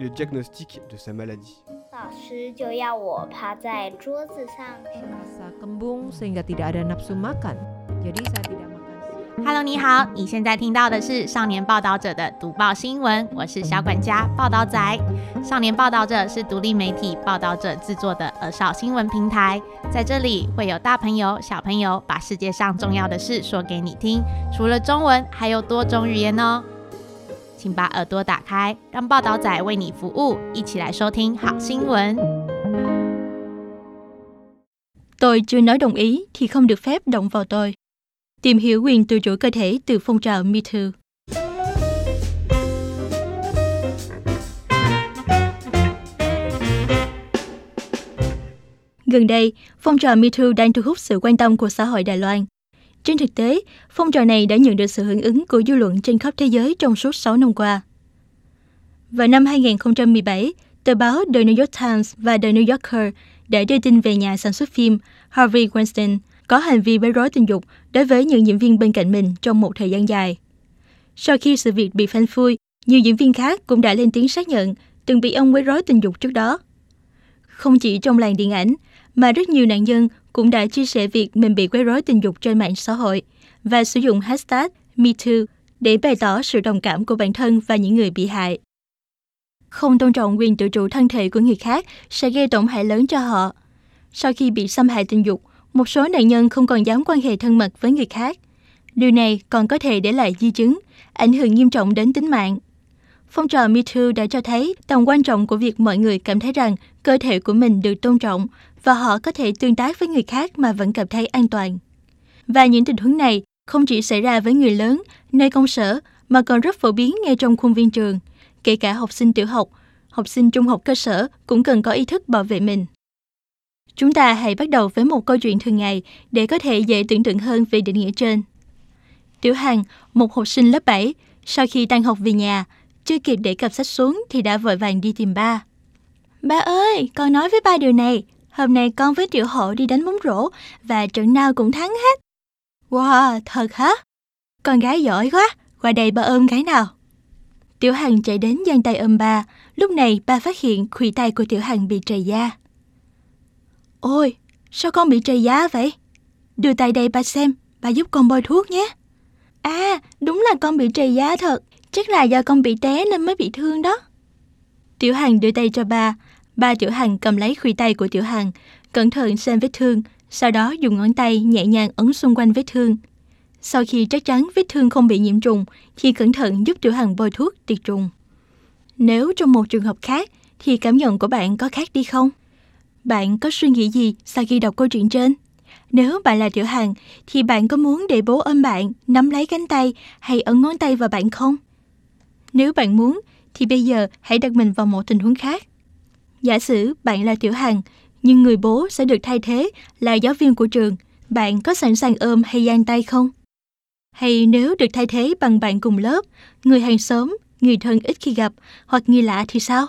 le diagnostic de sa maladie. 老師就要我趴在桌子上 Rasa kembung sehingga tidak ada nafsu makan. Jadi saya tidak makan siang. Hello， 你好，你現在聽到的是少年報導者的讀報新聞，我是小管家報導仔。少年報導者是獨立媒體報導者製作的兒少新聞平台，在這裡會有大朋友、小朋友把世界上重要的事說給你聽，除了中文，還有多種語言哦。請把耳朵打開，讓報導仔為你服務，一起來收聽好新聞。 Tôi chưa nói đồng ý thì không được phép động vào tôi. Tìm hiểu quyền tự chủ cơ thể từ phong trào Me Too. Gần đây, phong trào Me Too đang thu hút sự quan tâm của xã hội Đài Loan. Trên thực tế, phong trào này đã nhận được sự hưởng ứng của dư luận trên khắp thế giới trong suốt 6 năm qua. Vào năm 2017, tờ báo The New York Times và The New Yorker đã đưa tin về nhà sản xuất phim Harvey Weinstein có hành vi quấy rối tình dục đối với những diễn viên bên cạnh mình trong một thời gian dài. Sau khi sự việc bị phanh phui, nhiều diễn viên khác cũng đã lên tiếng xác nhận từng bị ông quấy rối tình dục trước đó. Không chỉ trong làng điện ảnh, mà rất nhiều nạn nhân cũng đã chia sẻ việc mình bị quấy rối tình dục trên mạng xã hội và sử dụng hashtag MeToo để bày tỏ sự đồng cảm của bản thân và những người bị hại. Không tôn trọng quyền tự chủ thân thể của người khác sẽ gây tổn hại lớn cho họ. Sau khi bị xâm hại tình dục, một số nạn nhân không còn dám quan hệ thân mật với người khác. Điều này còn có thể để lại di chứng, ảnh hưởng nghiêm trọng đến tính mạng. Phong trào Me Too đã cho thấy tầm quan trọng của việc mọi người cảm thấy rằng cơ thể của mình được tôn trọng và họ có thể tương tác với người khác mà vẫn cảm thấy an toàn. Và những tình huống này không chỉ xảy ra với người lớn, nơi công sở, mà còn rất phổ biến ngay trong khuôn viên trường. Kể cả học sinh tiểu học, học sinh trung học cơ sở cũng cần có ý thức bảo vệ mình. Chúng ta hãy bắt đầu với một câu chuyện thường ngày để có thể dễ tưởng tượng hơn về định nghĩa trên. Tiểu Hằng, một học sinh lớp 7, sau khi tan học về nhà, chưa kịp để cặp sách xuống thì đã vội vàng đi tìm ba. Ba ơi, con nói với ba điều này. Hôm nay con với Tiểu Hổ đi đánh bóng rổ và trận nào cũng thắng hết. Wow, thật hả? Con gái giỏi quá, qua đây ba ôm cái nào. Tiểu Hằng chạy đến giang tay ôm ba. Lúc này ba phát hiện khuỷu tay của Tiểu Hằng bị trầy da. Ôi, sao con bị trầy da vậy? Đưa tay đây ba xem, ba giúp con bôi thuốc nhé. À, đúng là con bị trầy da thật. Chắc là do con bị té nên mới bị thương đó. Tiểu Hằng đưa tay cho ba. Ba Tiểu Hằng cầm lấy khuỷu tay của Tiểu Hằng, cẩn thận xem vết thương, sau đó dùng ngón tay nhẹ nhàng ấn xung quanh vết thương. Sau khi chắc chắn vết thương không bị nhiễm trùng, thì cẩn thận giúp Tiểu Hằng bôi thuốc diệt trùng. Nếu trong một trường hợp khác, thì cảm nhận của bạn có khác đi không? Bạn có suy nghĩ gì sau khi đọc câu chuyện trên? Nếu bạn là Tiểu Hằng, thì bạn có muốn để bố ôm bạn, nắm lấy cánh tay hay ấn ngón tay vào bạn không? Nếu bạn muốn, thì bây giờ hãy đặt mình vào một tình huống khác. Giả sử bạn là Tiểu Hằng, nhưng người bố sẽ được thay thế là giáo viên của trường. Bạn có sẵn sàng ôm hay giang tay không? Hay nếu được thay thế bằng bạn cùng lớp, người hàng xóm, người thân ít khi gặp hoặc người lạ thì sao?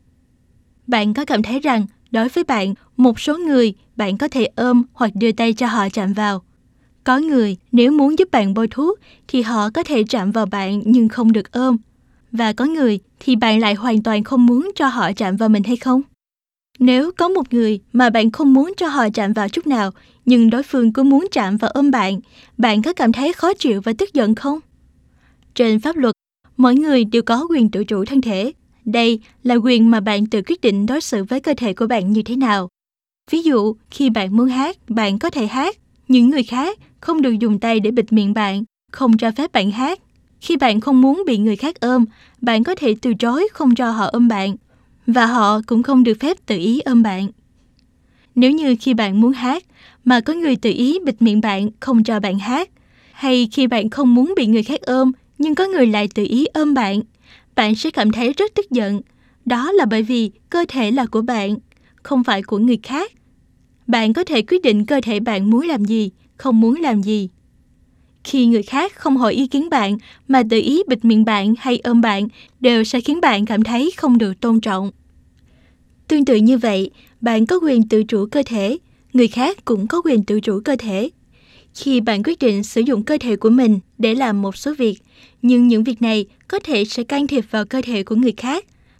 Bạn có cảm thấy rằng đối với bạn, một số người bạn có thể ôm hoặc đưa tay cho họ chạm vào. Có người nếu muốn giúp bạn bôi thuốc thì họ có thể chạm vào bạn nhưng không được ôm. Và có người thì bạn lại hoàn toàn không muốn cho họ chạm vào mình hay không? Nếu có một người mà bạn không muốn cho họ chạm vào chút nào, nhưng đối phương cứ muốn chạm và ôm bạn, bạn có cảm thấy khó chịu và tức giận không? Trên pháp luật, mỗi người đều có quyền tự chủ thân thể. Đây là quyền mà bạn tự quyết định đối xử với cơ thể của bạn như thế nào. Ví dụ, khi bạn muốn hát, bạn có thể hát. Những người khác không được dùng tay để bịt miệng bạn, không cho phép bạn hát. Khi bạn không muốn bị người khác ôm, bạn có thể từ chối không cho họ ôm bạn. Và họ cũng không được phép tự ý ôm bạn. Nếu như khi bạn muốn hát, mà có người tự ý bịt miệng bạn không cho bạn hát, hay khi bạn không muốn bị người khác ôm, nhưng có người lại tự ý ôm bạn, bạn sẽ cảm thấy rất tức giận. Đó là bởi vì cơ thể là của bạn, không phải của người khác. Bạn có thể quyết định cơ thể bạn muốn làm gì, không muốn làm gì. Khi người khác không hỏi ý kiến bạn mà tự ý bịt miệng bạn hay ôm bạn đều sẽ khiến bạn cảm thấy không được tôn trọng. Tương tự như vậy, bạn có quyền tự chủ cơ thể, người khác cũng có quyền tự chủ cơ thể. Khi bạn quyết định sử dụng cơ thể của mình để làm một số việc, nhưng những việc này có thể sẽ can thiệp vào cơ thể của người khác,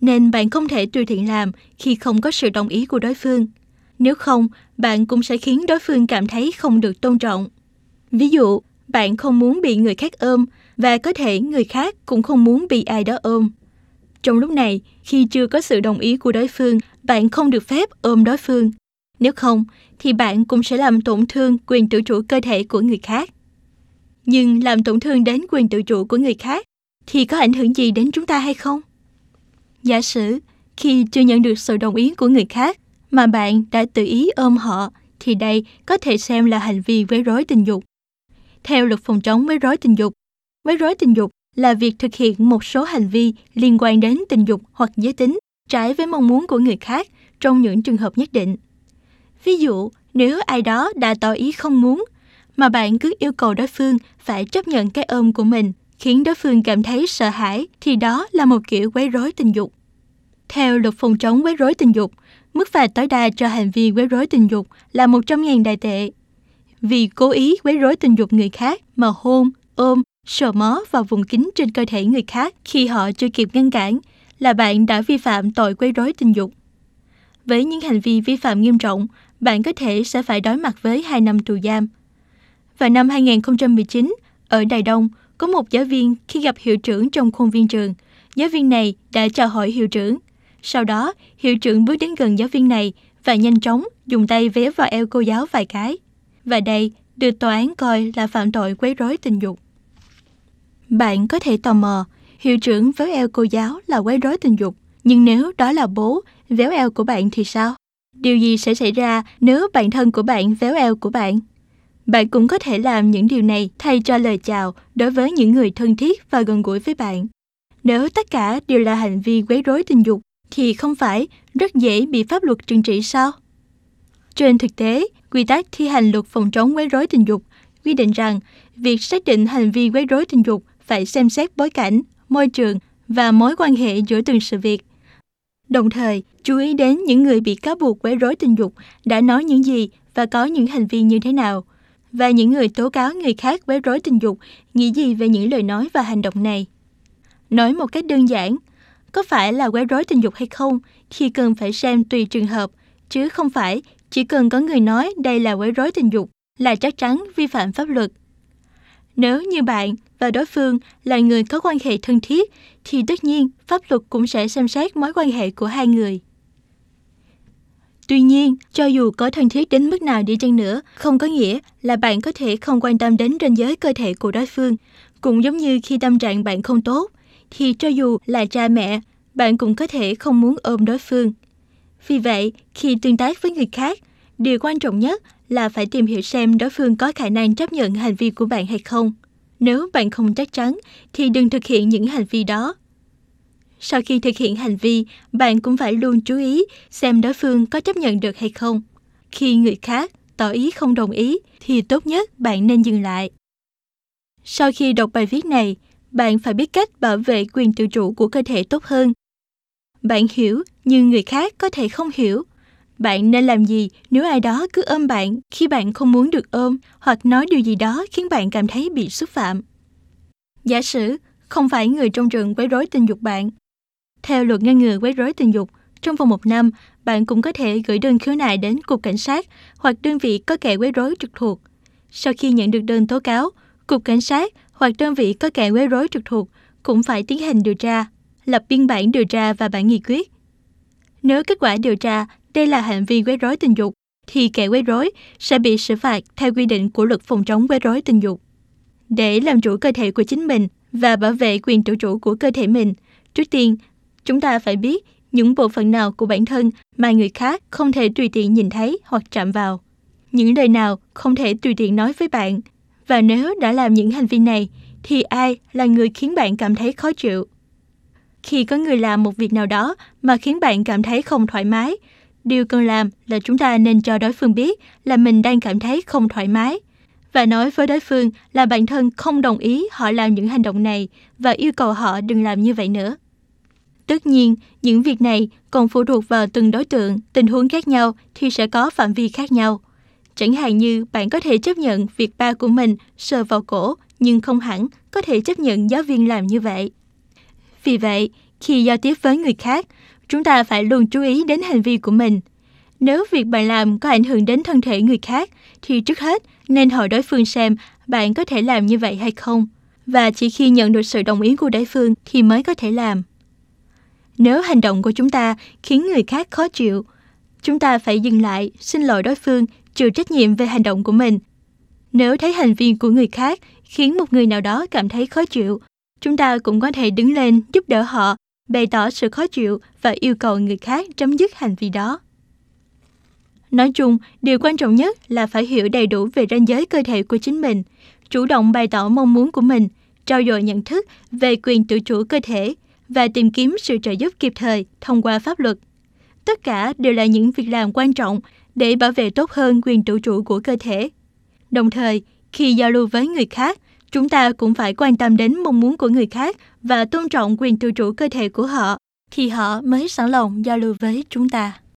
nên bạn không thể tùy tiện làm khi không có sự đồng ý của đối phương. Nếu không, bạn cũng sẽ khiến đối phương cảm thấy không được tôn trọng. Ví dụ, bạn không muốn bị người khác ôm và có thể người khác cũng không muốn bị ai đó ôm. Trong lúc này, khi chưa có sự đồng ý của đối phương, bạn không được phép ôm đối phương. Nếu không, thì bạn cũng sẽ làm tổn thương quyền tự chủ cơ thể của người khác. Nhưng làm tổn thương đến quyền tự chủ của người khác thì có ảnh hưởng gì đến chúng ta hay không? Giả sử, khi chưa nhận được sự đồng ý của người khác mà bạn đã tự ý ôm họ, thì đây có thể xem là hành vi quấy rối tình dục. Theo luật phòng chống quấy rối tình dục là việc thực hiện một số hành vi liên quan đến tình dục hoặc giới tính trái với mong muốn của người khác trong những trường hợp nhất định. Ví dụ, nếu ai đó đã tỏ ý không muốn, mà bạn cứ yêu cầu đối phương phải chấp nhận cái ôm của mình, khiến đối phương cảm thấy sợ hãi, thì đó là một kiểu quấy rối tình dục. Theo luật phòng chống quấy rối tình dục, mức phạt tối đa cho hành vi quấy rối tình dục là 100.000 Đài tệ. Vì cố ý quấy rối tình dục người khác mà hôn, ôm, sờ mó vào vùng kín trên cơ thể người khác khi họ chưa kịp ngăn cản là bạn đã vi phạm tội quấy rối tình dục. Với những hành vi vi phạm nghiêm trọng, bạn có thể sẽ phải đối mặt với 2 năm tù giam. Vào năm 2019, ở Đài Đông, có một giáo viên khi gặp hiệu trưởng trong khuôn viên trường, giáo viên này đã chào hỏi hiệu trưởng. Sau đó, hiệu trưởng bước đến gần giáo viên này và nhanh chóng dùng tay véo vào eo cô giáo vài cái. Và đây được tòa án coi là phạm tội quấy rối tình dục. Bạn có thể tò mò, hiệu trưởng véo eo cô giáo là quấy rối tình dục, nhưng nếu đó là bố véo eo của bạn thì sao? Điều gì sẽ xảy ra nếu bạn thân của bạn véo eo của bạn? Bạn cũng có thể làm những điều này thay cho lời chào đối với những người thân thiết và gần gũi với bạn. Nếu tất cả đều là hành vi quấy rối tình dục, thì không phải rất dễ bị pháp luật trừng trị sao? Trên thực tế, quy tắc thi hành luật phòng chống quấy rối tình dục quy định rằng việc xác định hành vi quấy rối tình dục phải xem xét bối cảnh, môi trường và mối quan hệ giữa từng sự việc. Đồng thời, chú ý đến những người bị cáo buộc quấy rối tình dục đã nói những gì và có những hành vi như thế nào, và những người tố cáo người khác quấy rối tình dục nghĩ gì về những lời nói và hành động này. Nói một cách đơn giản, có phải là quấy rối tình dục hay không thì cần phải xem tùy trường hợp, chứ không phải chỉ cần có người nói đây là quấy rối tình dục là chắc chắn vi phạm pháp luật. Nếu như bạn và đối phương là người có quan hệ thân thiết, thì tất nhiên pháp luật cũng sẽ xem xét mối quan hệ của hai người. Tuy nhiên, cho dù có thân thiết đến mức nào đi chăng nữa, không có nghĩa là bạn có thể không quan tâm đến ranh giới cơ thể của đối phương. Cũng giống như khi tâm trạng bạn không tốt, thì cho dù là cha mẹ, bạn cũng có thể không muốn ôm đối phương. Vì vậy, khi tương tác với người khác, điều quan trọng nhất là phải tìm hiểu xem đối phương có khả năng chấp nhận hành vi của bạn hay không. Nếu bạn không chắc chắn, thì đừng thực hiện những hành vi đó. Sau khi thực hiện hành vi, bạn cũng phải luôn chú ý xem đối phương có chấp nhận được hay không. Khi người khác tỏ ý không đồng ý, thì tốt nhất bạn nên dừng lại. Sau khi đọc bài viết này, bạn phải biết cách bảo vệ quyền tự chủ của cơ thể tốt hơn. Bạn hiểu, nhưng người khác có thể không hiểu. Bạn nên làm gì nếu ai đó cứ ôm bạn khi bạn không muốn được ôm, hoặc nói điều gì đó khiến bạn cảm thấy bị xúc phạm? Giả sử không phải người trong trường quấy rối tình dục bạn. Theo luật ngăn ngừa quấy rối tình dục, trong vòng 1 năm, bạn cũng có thể gửi đơn khiếu nại đến Cục Cảnh sát hoặc đơn vị có kẻ quấy rối trực thuộc. Sau khi nhận được đơn tố cáo, Cục Cảnh sát hoặc đơn vị có kẻ quấy rối trực thuộc cũng phải tiến hành điều tra, lập biên bản điều tra và bản nghị quyết. Nếu kết quả điều tra đây là hành vi quấy rối tình dục, thì kẻ quấy rối sẽ bị xử phạt theo quy định của luật phòng chống quấy rối tình dục. Để làm chủ cơ thể của chính mình và bảo vệ quyền tự chủ của cơ thể mình, trước tiên, chúng ta phải biết những bộ phận nào của bản thân mà người khác không thể tùy tiện nhìn thấy hoặc chạm vào. Những lời nào không thể tùy tiện nói với bạn. Và nếu đã làm những hành vi này, thì ai là người khiến bạn cảm thấy khó chịu? Khi có người làm một việc nào đó mà khiến bạn cảm thấy không thoải mái, điều cần làm là chúng ta nên cho đối phương biết là mình đang cảm thấy không thoải mái và nói với đối phương là bản thân không đồng ý họ làm những hành động này và yêu cầu họ đừng làm như vậy nữa. Tất nhiên, những việc này còn phụ thuộc vào từng đối tượng, tình huống khác nhau thì sẽ có phạm vi khác nhau. Chẳng hạn như bạn có thể chấp nhận việc ba của mình sờ vào cổ, nhưng không hẳn có thể chấp nhận giáo viên làm như vậy. Vì vậy, khi giao tiếp với người khác, chúng ta phải luôn chú ý đến hành vi của mình. Nếu việc bạn làm có ảnh hưởng đến thân thể người khác, thì trước hết nên hỏi đối phương xem bạn có thể làm như vậy hay không. Và chỉ khi nhận được sự đồng ý của đối phương thì mới có thể làm. Nếu hành động của chúng ta khiến người khác khó chịu, chúng ta phải dừng lại, xin lỗi đối phương, chịu trách nhiệm về hành động của mình. Nếu thấy hành vi của người khác khiến một người nào đó cảm thấy khó chịu, chúng ta cũng có thể đứng lên giúp đỡ họ, bày tỏ sự khó chịu và yêu cầu người khác chấm dứt hành vi đó. Nói chung, điều quan trọng nhất là phải hiểu đầy đủ về ranh giới cơ thể của chính mình, chủ động bày tỏ mong muốn của mình, trau dồi nhận thức về quyền tự chủ cơ thể và tìm kiếm sự trợ giúp kịp thời thông qua pháp luật. Tất cả đều là những việc làm quan trọng để bảo vệ tốt hơn quyền tự chủ của cơ thể. Đồng thời, khi giao lưu với người khác, chúng ta cũng phải quan tâm đến mong muốn của người khác và tôn trọng quyền tự chủ cơ thể của họ, thì họ mới sẵn lòng giao lưu với chúng ta.